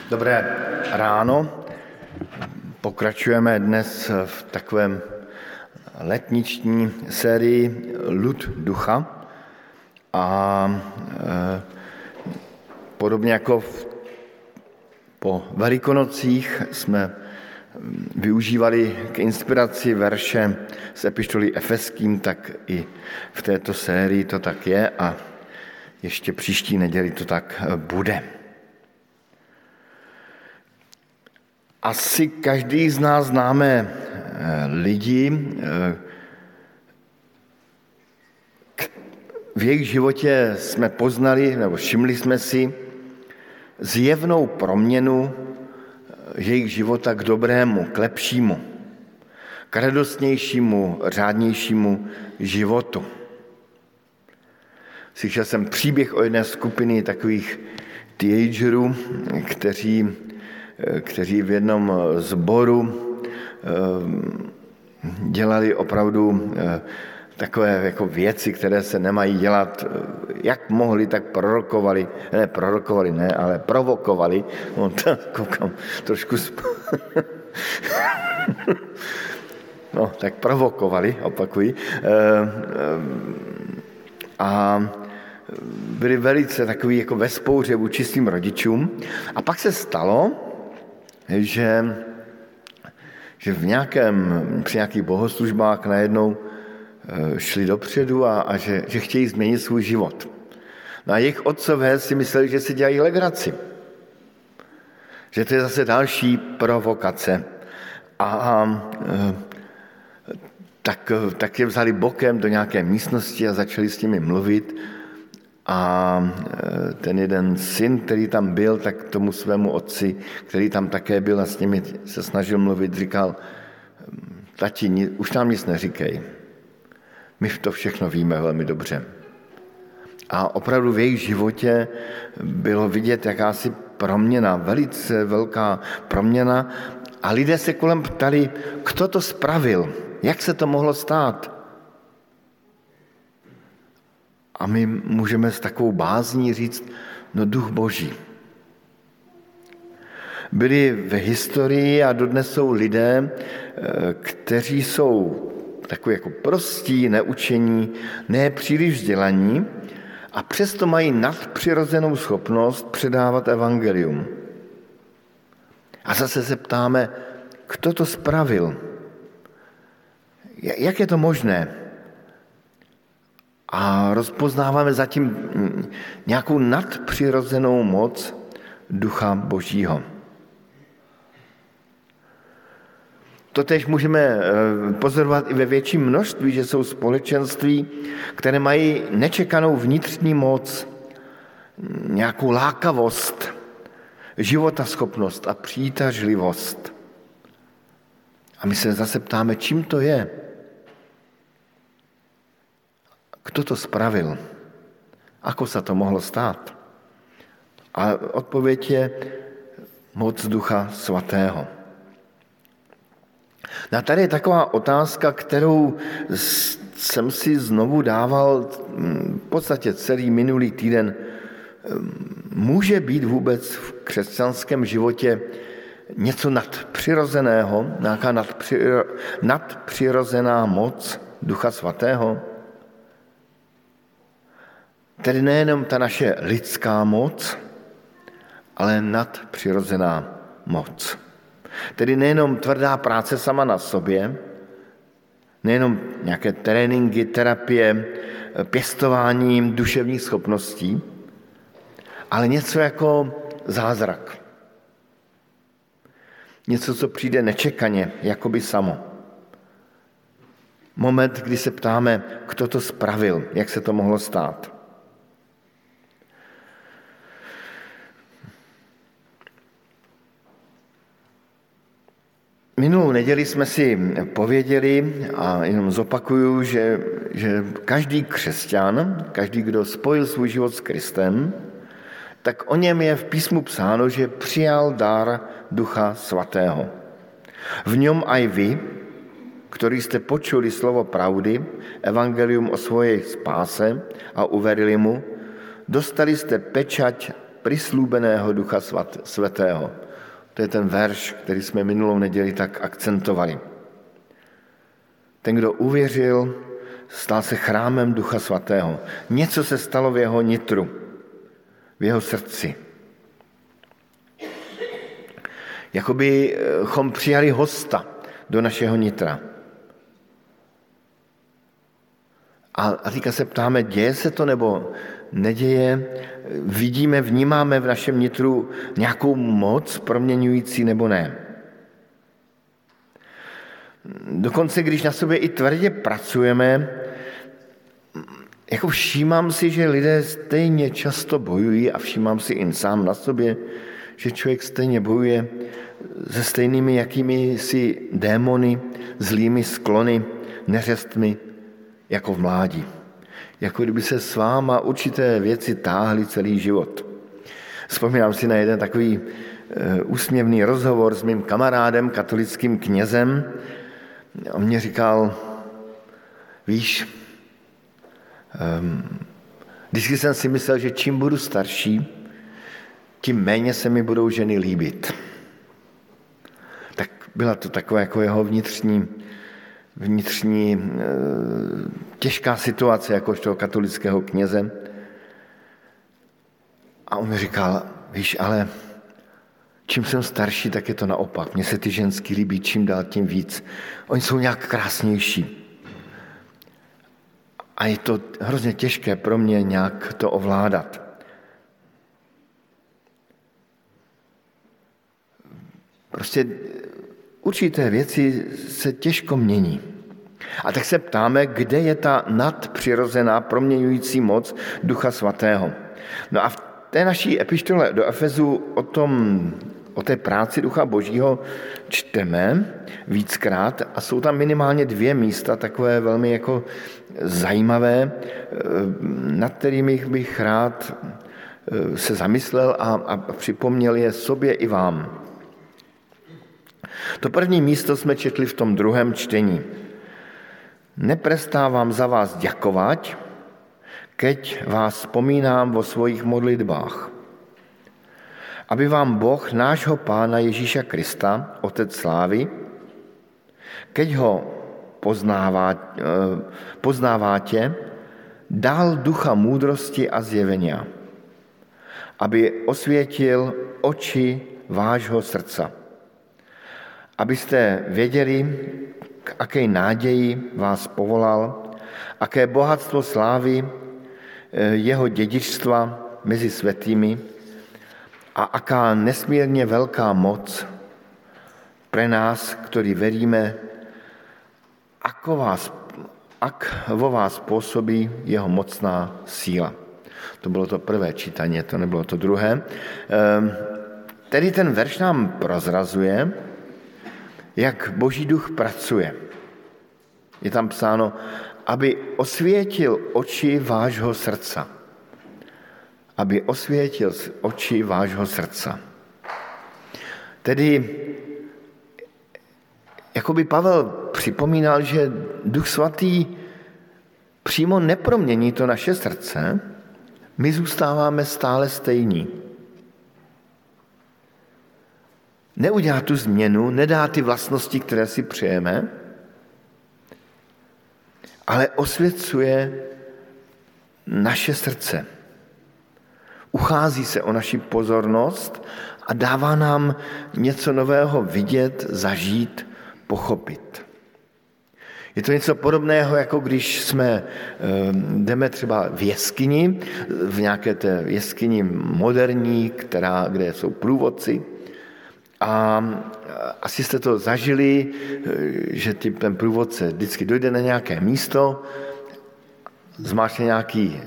Dobré ráno. Pokračujeme dnes v takovém letniční sérii Lud ducha a podobně jako po Velikonocích jsme využívali k inspiraci verše z epištoly Efeským, tak i v této sérii to tak je a ještě příští neděli to tak bude. Asi každý z nás známe lidi, v jejich životě jsme poznali nebo všimli jsme si zjevnou proměnu jejich života k dobrému, k lepšímu, k radostnějšímu, řádnějšímu životu. Slyšel jsem příběh o jedné skupiny takových teenagerů, kteří v jednom sboru dělali opravdu takové jako věci, které se nemají dělat, jak mohli, tak provokovali. No, koukám trošku no, tak provokovali, opakuji. A byli velice takový jako ve spouře vůči svým rodičům. A pak se stalo, že při nějakých bohoslužbách najednou šli dopředu a že chtějí změnit svůj život. No a jejich otcové si mysleli, že si dělají legraci. Že to je zase další provokace. Tak je vzali bokem do nějaké místnosti a začali s nimi mluvit. A ten jeden syn, který tam byl, tak tomu svému otci, který tam také byl a s nimi se snažil mluvit, říkal: tati, už nám nic neříkej. My to všechno víme velmi dobře. A opravdu v jejich životě bylo vidět jakási proměna, velice velká proměna. A lidé se kolem ptali, kdo to spravil, jak se to mohlo stát. A my můžeme s takovou bázní říct, no Duch Boží. Byli v historii a dodnes jsou lidé, kteří jsou takový jako prostí, neučení, ne příliš vzdělaní a přesto mají nadpřirozenou schopnost předávat evangelium. A zase se ptáme, kdo to spravil? Jak je to možné? A rozpoznáváme zatím nějakou nadpřirozenou moc Ducha Božího. Totéž můžeme pozorovat i ve větším množství, že jsou společenství, které mají nečekanou vnitřní moc, nějakou lákavost, životaschopnost a přitažlivost. A my se zase ptáme, čím to je? Kdo to spravil? Ako sa to mohlo stát? A odpověď je moc Ducha Svatého. No a tady je taková otázka, kterou jsem si znovu dával v podstatě celý minulý týden. Může být vůbec v křesťanském životě něco nadpřirozeného, nějaká nadpřirozená moc Ducha Svatého? Tedy nejenom ta naše lidská moc, ale nadpřirozená moc. Tedy nejenom tvrdá práce sama na sobě, nejenom nějaké tréninky, terapie, pěstování duševních schopností, ale něco jako zázrak. Něco, co přijde nečekaně, jakoby samo. Moment, kdy se ptáme, kdo to spravil, jak se to mohlo stát. Minulou neděli jsme si pověděli a jenom zopakuju, že každý křesťan, každý, kdo spojil svůj život s Kristem, tak o něm je v písmu psáno, že přijal dar Ducha Svatého. V něm aj vy, ktorí ste počuli slovo pravdy, evangelium o svojej spáse a uverili mu, dostali ste pečať prislúbeného Ducha Svatého. To je ten verš, který jsme minulou neděli tak akcentovali. Ten, kdo uvěřil, stal se chrámem Ducha Svatého. Něco se stalo v jeho nitru, v jeho srdci. Jakobychom přijali hosta do našeho nitra. A teďka se ptáme, děje se to nebo neděje? Vidíme, vnímáme v našem nitru nějakou moc proměňující nebo ne? Dokonce, když na sobě i tvrdě pracujeme, jako všímám si, že lidé stejně často bojují a všímám si i sám na sobě, že člověk stejně bojuje se stejnými jakými si démony, zlými sklony, neřestmi, jako v mládí. Jako kdyby se s váma určité věci táhly celý život. Vzpomínám si na jeden takový úsměvný rozhovor s mým kamarádem, katolickým knězem. On mě říkal, víš, vždycky jsem si myslel, že čím budu starší, tím méně se mi budou ženy líbit. Tak byla to taková jako jeho vnitřní těžká situace jakožto katolického kněze. A on mi říkal, víš, ale čím jsem starší, tak je to naopak. Mně se ty ženský líbí čím dál tím víc. Oni jsou nějak krásnější. A je to hrozně těžké pro mě nějak to ovládat. Prostě určité věci se těžko mění. A tak se ptáme, kde je ta nadpřirozená proměňující moc Ducha Svatého. No a v té naší epištole do Efezu o té práci Ducha Božího čteme víckrát a jsou tam minimálně 2 místa, takové velmi jako zajímavé, nad kterými bych rád se zamyslel a připomněl je sobě i vám. To první místo jsme četli v tom druhém čtení. Neprestávám za vás ďakovať, keď vás vzpomínám vo svojich modlitbách. Aby vám Boh, nášho Pána Ježíša Krista, Otec slávy, keď ho poznáváte, dal ducha múdrosti a zjevenia, aby osvietil oči vášho srdca. Abyste věděli, k akej nádeji vás povolal, aké bohatstvo slávy jeho dedičstva mezi svätými a aká nesmírně velká moc pre nás, ktorí veríme, ak vo vás pôsobí jeho mocná síla. To bylo to prvé čítanie, to nebylo to druhé. Tedy ten verš nám prozrazuje, jak Boží duch pracuje. Je tam psáno, aby osvětil oči vášho srdca. Aby osvětil oči vášho srdca. Tedy, jako by Pavel připomínal, že Duch Svatý přímo nepromění to naše srdce, my zůstáváme stále stejní. Neudělá tu změnu, nedá ty vlastnosti, které si přejeme, ale osvěcuje naše srdce. Uchází se o naši pozornost a dává nám něco nového vidět, zažít, pochopit. Je to něco podobného, jako když jdeme třeba v jeskyni, v nějaké té jeskyni moderní, kde jsou průvodci. A asi jste to zažili, že ten průvodce vždycky dojde na nějaké místo, zmáčkne nějaký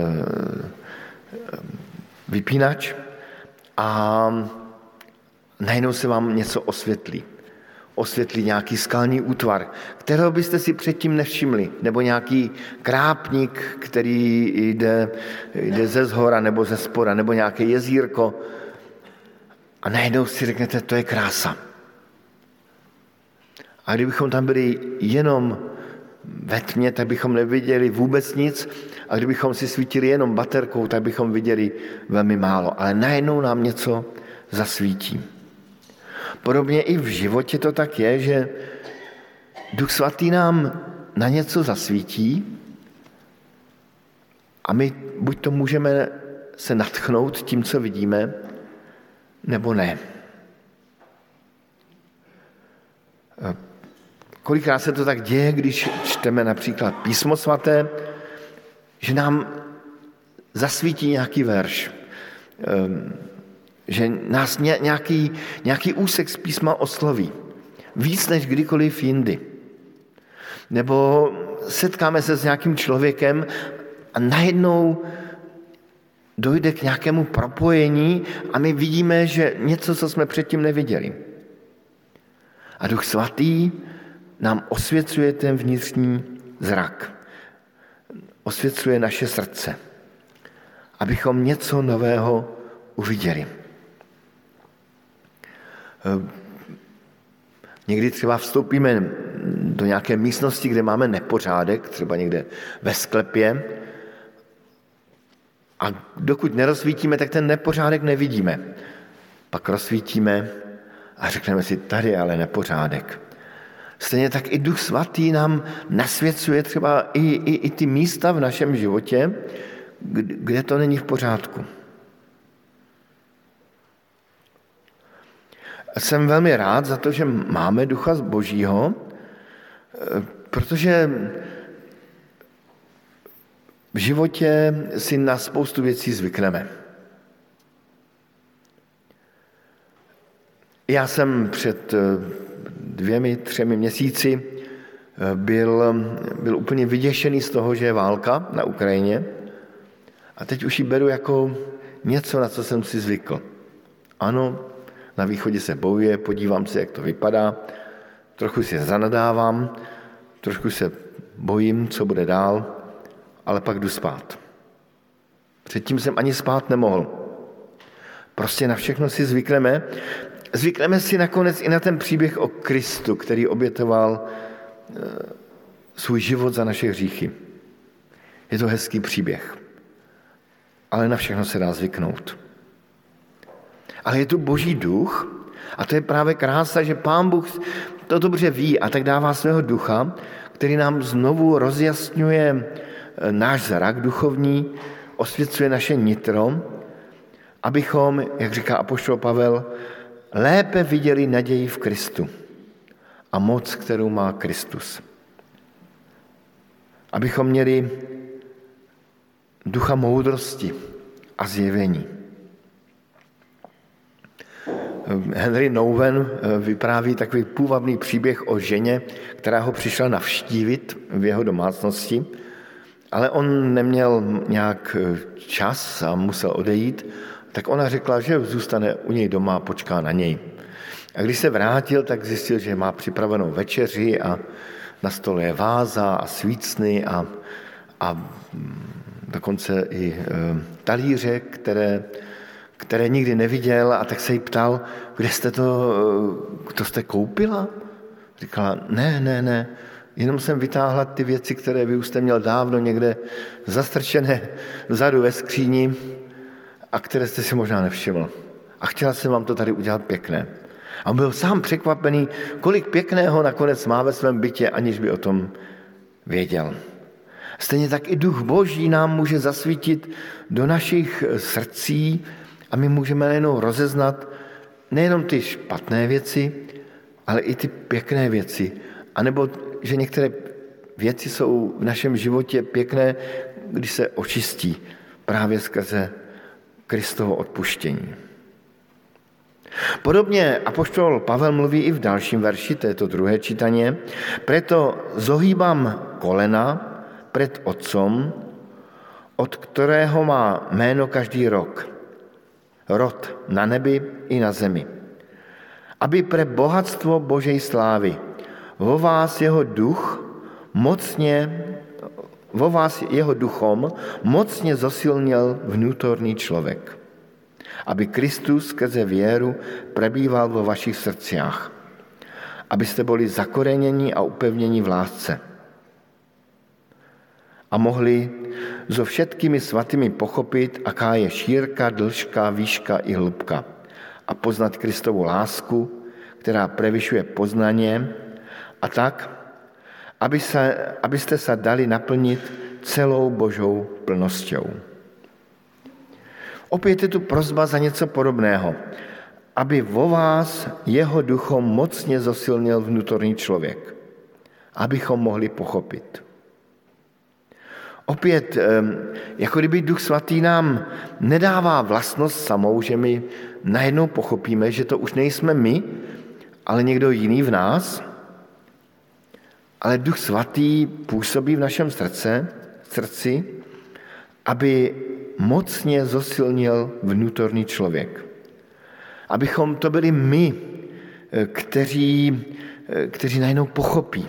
vypínač a najednou se vám něco osvětlí. Osvětlí nějaký skalní útvar, kterého byste si předtím nevšimli, nebo nějaký krápník, který jde ze zhora nebo ze spoda, nebo nějaké jezírko. A najednou si řeknete, to je krása. A kdybychom tam byli jenom ve tmě, tak bychom neviděli vůbec nic a kdybychom si svítili jenom baterkou, tak bychom viděli velmi málo. Ale najednou nám něco zasvítí. Podobně i v životě to tak je, že Duch Svatý nám na něco zasvítí a my buď to můžeme se nadchnout tím, co vidíme, nebo ne. Kolikrát se to tak děje, když čteme například Písmo svaté, že nám zasvítí nějaký verš, že nás nějaký úsek z písma osloví. Víc než kdykoliv jindy. Nebo setkáme se s nějakým člověkem a najednou dojde k nějakému propojení a my vidíme, že něco, co jsme předtím neviděli. A Duch Svatý nám osvěcuje ten vnitřní zrak. Osvěcuje naše srdce, abychom něco nového uviděli. Někdy třeba vstoupíme do nějaké místnosti, kde máme nepořádek, třeba někde ve sklepě, a dokud nerozsvítíme, tak ten nepořádek nevidíme. Pak rozsvítíme a řekneme si, tady je ale nepořádek. Stejně tak i Duch Svatý nám nasvěcuje třeba i ty místa v našem životě, kde to není v pořádku. Jsem velmi rád za to, že máme Ducha Božího, protože v životě si na spoustu věcí zvykneme. Já jsem před 2-3 měsíci byl úplně vyděšený z toho, že je válka na Ukrajině a teď už ji beru jako něco, na co jsem si zvykl. Ano, na východě se bojuje, podívám se, jak to vypadá, trochu si zanadávám, trošku se bojím, co bude dál, ale pak jdu spát. Předtím jsem ani spát nemohl. Prostě na všechno si zvykneme. Zvykneme si nakonec i na ten příběh o Kristu, který obětoval svůj život za naše hříchy. Je to hezký příběh, ale na všechno se dá zvyknout. Ale je tu Boží duch a to je právě krása, že Pán Bůh to dobře ví a tak dává svého ducha, který nám znovu rozjasňuje náš zrak duchovní, osvěcuje naše nitro, abychom, jak říká apoštol Pavel, lépe viděli naději v Kristu a moc, kterou má Kristus. Abychom měli ducha moudrosti a zjevení. Henry Nouwen vypráví takový půvabný příběh o ženě, která ho přišla navštívit v jeho domácnosti, ale on neměl nějak čas a musel odejít, tak ona řekla, že zůstane u něj doma a počká na něj. A když se vrátil, tak zjistil, že má připravenou večeři a na stole je váza a svícny a dokonce i talíře, které nikdy neviděl, a tak se jí ptal, kde jste to jste koupila? Říkala, ne, jenom jsem vytáhla ty věci, které vy už jste měl dávno někde zastrčené vzadu ve skříni a které jste si možná nevšiml. A chtěla jsem vám to tady udělat pěkné. A on byl sám překvapený, kolik pěkného nakonec má ve svém bytě, aniž by o tom věděl. Stejně tak i Duch Boží nám může zasvítit do našich srdcí a my můžeme nejenom rozeznat nejenom ty špatné věci, ale i ty pěkné věci. A nebo, že některé věci jsou v našem životě pěkné, když se očistí právě skrze Kristovo odpuštění. Podobně apoštol Pavel mluví i v dalším verši, to je to druhé čítaně. Preto zohýbam kolena před Otcom, od kterého má jméno každý rod na nebi i na zemi. Aby pre bohatstvo Božej slávy vo vás jeho duchom mocně zosilnil vnútorný člověk. Aby Kristus skrze věru prebýval vo vašich srdciach. Abyste byli zakoreněni a upevněni v lásce. a mohli so všetkými svatými pochopit, aká je šírka, dĺžka, výška i hĺbka a poznat Kristovu lásku, která prevyšuje poznanie, a tak, abyste sa dali naplnit celou Božou plnosťou. Opět je tu prosba za něco podobného, aby vo vás jeho duchom mocně zosilnil vnútorný člověk, abychom mohli pochopit. Opět, jako kdyby Duch Svatý nám nedává vlastnost samou, že my najednou pochopíme, že to už nejsme my, ale někdo jiný v nás, ale Duch Svatý působí v našem srdci, aby mocně zosilnil vnútorný člověk. Abychom to byli my, kteří najednou pochopí.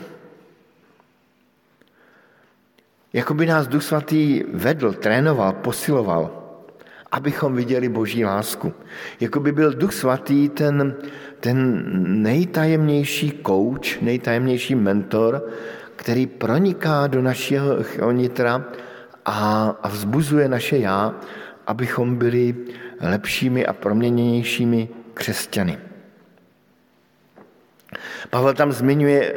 Jakoby nás Duch Svatý vedl, trénoval, posiloval, abychom viděli Boží lásku. Jakoby byl Duch Svatý ten nejtajemnější kouč, nejtajemnější mentor, který proniká do našeho nitra a vzbuzuje naše já, abychom byli lepšími a proměněnějšími křesťany. Pavel tam zmiňuje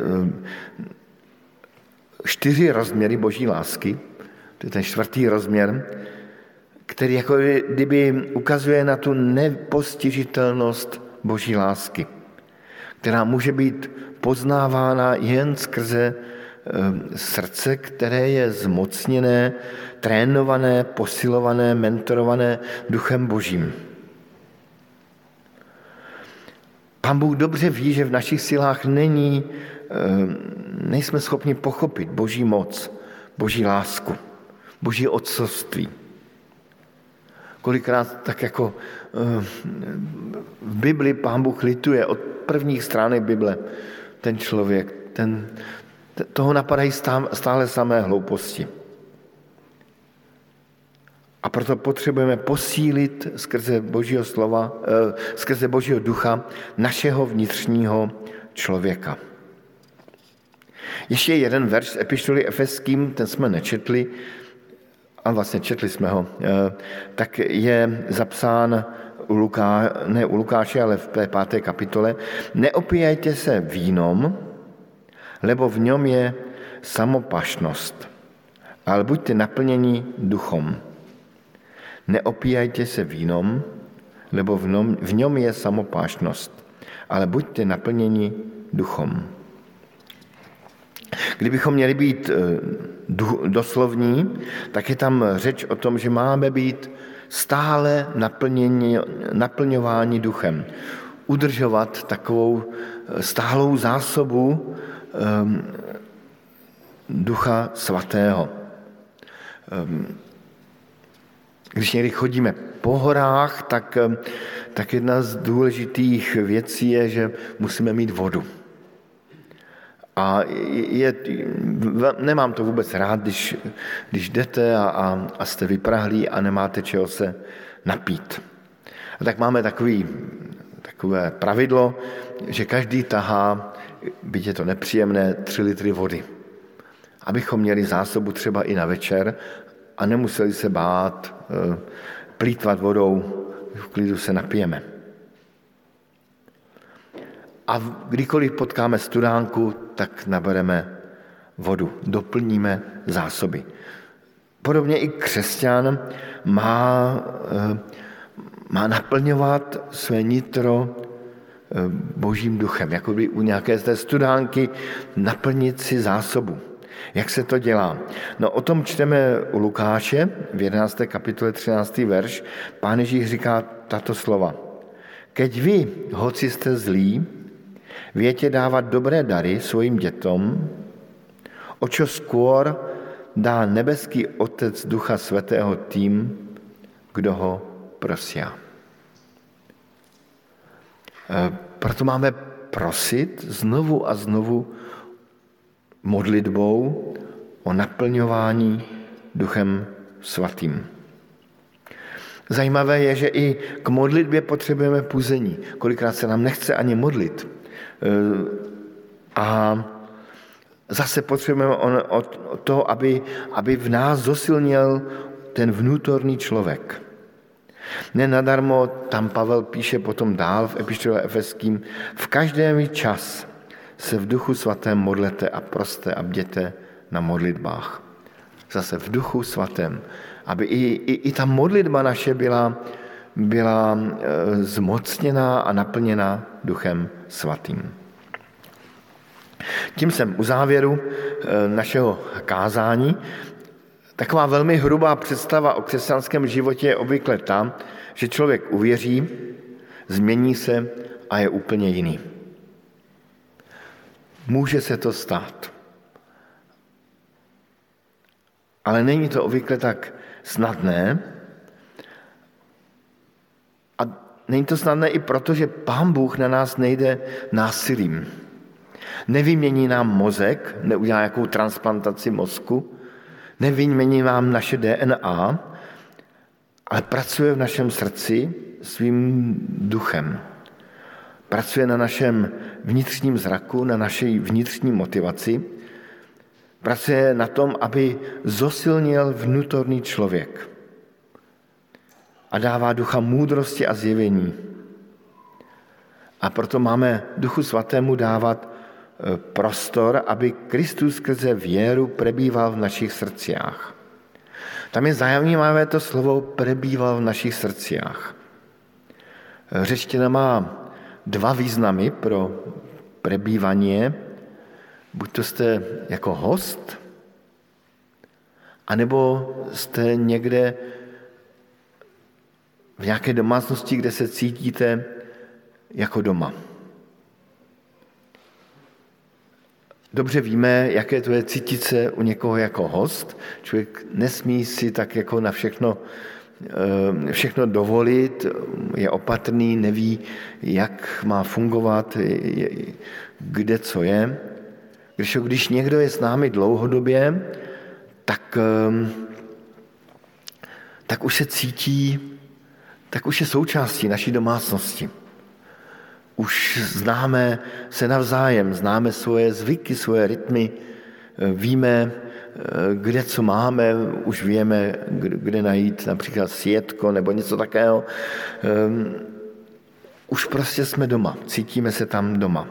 4 rozměry Boží lásky, to je ten 4. rozměr, který jako kdyby ukazuje na tu nepostižitelnost Boží lásky, která může být poznávána jen skrze srdce, které je zmocněné, trénované, posilované, mentorované Duchem Božím. Pán Bůh dobře ví, že v našich silách nejsme schopni pochopit Boží moc, Boží lásku, Boží otcovství. Kolikrát tak jako v Bibli Pán Bůh lituje od prvních stránek Bible ten člověk, toho napadají stále samé hlouposti. A proto potřebujeme posílit skrze Božího slova, skrze Božího ducha našeho vnitřního člověka. Ještě jeden verš z epištoly Efeským, ten jsme nečetli, a vlastně četli jsme ho, tak je zapsán u Lukáše, ale v 5. kapitole. Neopíjajte se vínom, lebo v něm je samopašnost, ale buďte naplněni duchom. Neopíjajte se vínom, lebo v něm je samopášnost, ale buďte naplněni duchom. Kdybychom měli být doslovní, tak je tam řeč o tom, že máme být stále naplňováni duchem. Udržovat takovou stálou zásobu Ducha Svatého. Když někdy chodíme po horách, tak jedna z důležitých věcí je, že musíme mít vodu. A nemám to vůbec rád, když jdete a jste vyprahlí a nemáte čeho se napít. A tak máme takové pravidlo, že každý tahá, byť je to nepříjemné, 3 litry vody. Abychom měli zásobu třeba i na večer a nemuseli se bát plýtvat vodou, v klidu se napijeme. A kdykoliv potkáme studánku, tak nabereme vodu, doplníme zásoby. Podobně i křesťan má naplňovat své nitro Božím duchem, jako by u nějaké z té studánky naplnit si zásobu. Jak se to dělá? No o tom čteme u Lukáše v 11. kapitole 13. verš. Pán Ježíš říká tato slova. Keď vy, hoci jste zlí, viete dávať dobré dary svojim detom, o čo skôr dá nebeský Otec Ducha Svätého tým, kdo ho prosia. Proto máme prosit znovu a znovu modlitbou o naplňování Duchem Svatým. Zajímavé je, že i k modlitbě potřebujeme puzení. Kolikrát se nám nechce ani modlit. A Zase potřebujeme to, aby v nás zosilněl ten vnútorný člověk. Nenadarmo tam Pavel píše potom dál v epištole Efeským: v každém čas se v Duchu Svatém modlete a proste a bděte na modlitbách. Zase v Duchu Svatém, aby i ta modlitba naše byla zmocněná a naplněná Duchem Svatým. Tím jsem u závěru našeho kázání. Taková velmi hrubá představa o křesťanském životě je obvykle ta, že člověk uvěří, změní se a je úplně jiný. Může se to stát. Ale není to obvykle tak snadné. A není to snadné i proto, že Pán Bůh na nás nejde násilím. Nevymění nám mozek, neudělá jakou transplantaci mozku, nevymění nám naše DNA, ale pracuje v našem srdci svým duchem. Pracuje na našem vnitřním zraku, na naší vnitřní motivaci. Pracuje na tom, aby zosilnil vnútorný člověk. A dává ducha moudrosti a zjevení. A proto máme Duchu Svatému dávat prostor, aby Kristus skrze věru prebýval v našich srdciach. Tam je zajímavé to slovo prebýval v našich srdciach. Řečtina má dva významy pro prebývanie. Buď to jste jako host, anebo jste někde v nějaké domácnosti, kde se cítíte jako doma. Dobře víme, jaké to je cítit se u někoho jako host. Člověk nesmí si tak jako na všechno dovolit, je opatrný, neví, jak má fungovat, kde co je. Když někdo je s námi dlouhodobě, tak už se cítí, tak už je součástí naší domácnosti. Už známe se navzájem, známe svoje zvyky, svoje rytmy, víme, kde co máme, už víme, kde najít například sjetko nebo něco takého. Už prostě jsme doma, cítíme se tam doma.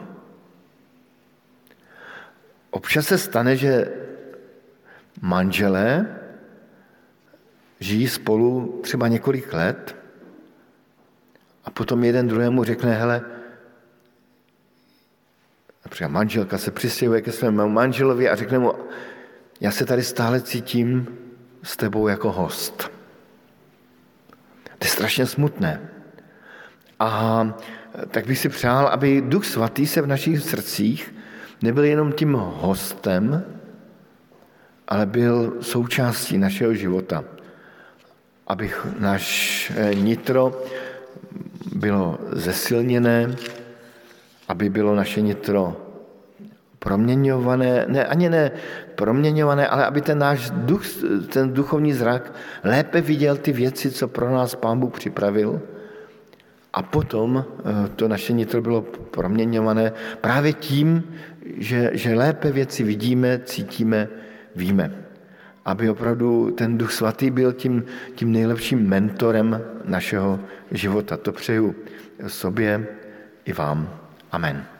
Občas se stane, že manželé žijí spolu třeba několik let a potom jeden druhému řekne, hele, například manželka se přistěhuje ke svému manželovi a řekne mu, já se tady stále cítím s tebou jako host. To je strašně smutné. A tak bych si přál, aby Duch Svatý se v našich srdcích nebyl jenom tím hostem, ale byl součástí našeho života. Aby naše nitro bylo zesilněné, aby bylo naše nitro proměňované, ne proměňované, ale aby ten náš duch, ten duchovní zrak lépe viděl ty věci, co pro nás Pán Bůh připravil. A potom to naše nitro bylo proměňované právě tím, že lépe věci vidíme, cítíme, víme. Aby opravdu ten Duch Svatý byl tím nejlepším mentorem našeho života. To přeju sobě i vám. Amen.